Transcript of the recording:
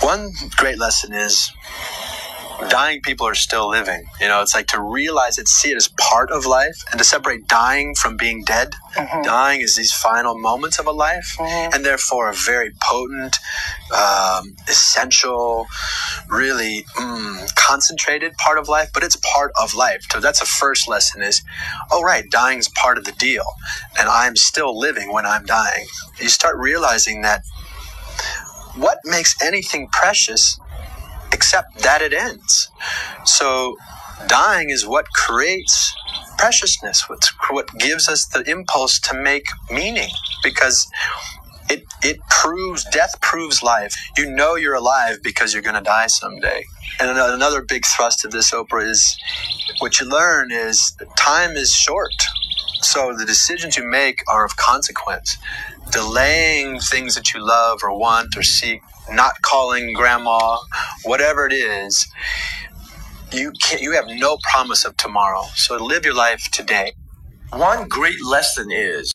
One great lesson is dying people are still living. It's like to realize it, see it as part of life, and to separate dying from being dead. Mm-hmm. Dying is these final moments of a life, mm-hmm. and therefore a very potent, essential, really concentrated part of life, but it's part of life. So that's the first lesson is, oh right, dying is part of the deal, and I'm still living when I'm dying. You start realizing that what makes anything precious except that it ends. So dying is what creates preciousness, what gives us the impulse to make meaning, because death proves life. You're alive because you're going to die someday. And another big thrust of this, Oprah, is what you learn is that time is short. So the decisions you make are of consequence. Delaying things that you love or want or seek, not calling grandma, whatever it is, you have no promise of tomorrow. So live your life today. One great lesson is